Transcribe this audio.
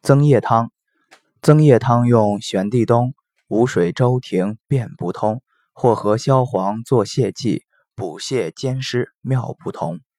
增液汤，增液汤用玄地冬、无水周庭便不通，或和消黄做泻剂，补泻兼施妙不同。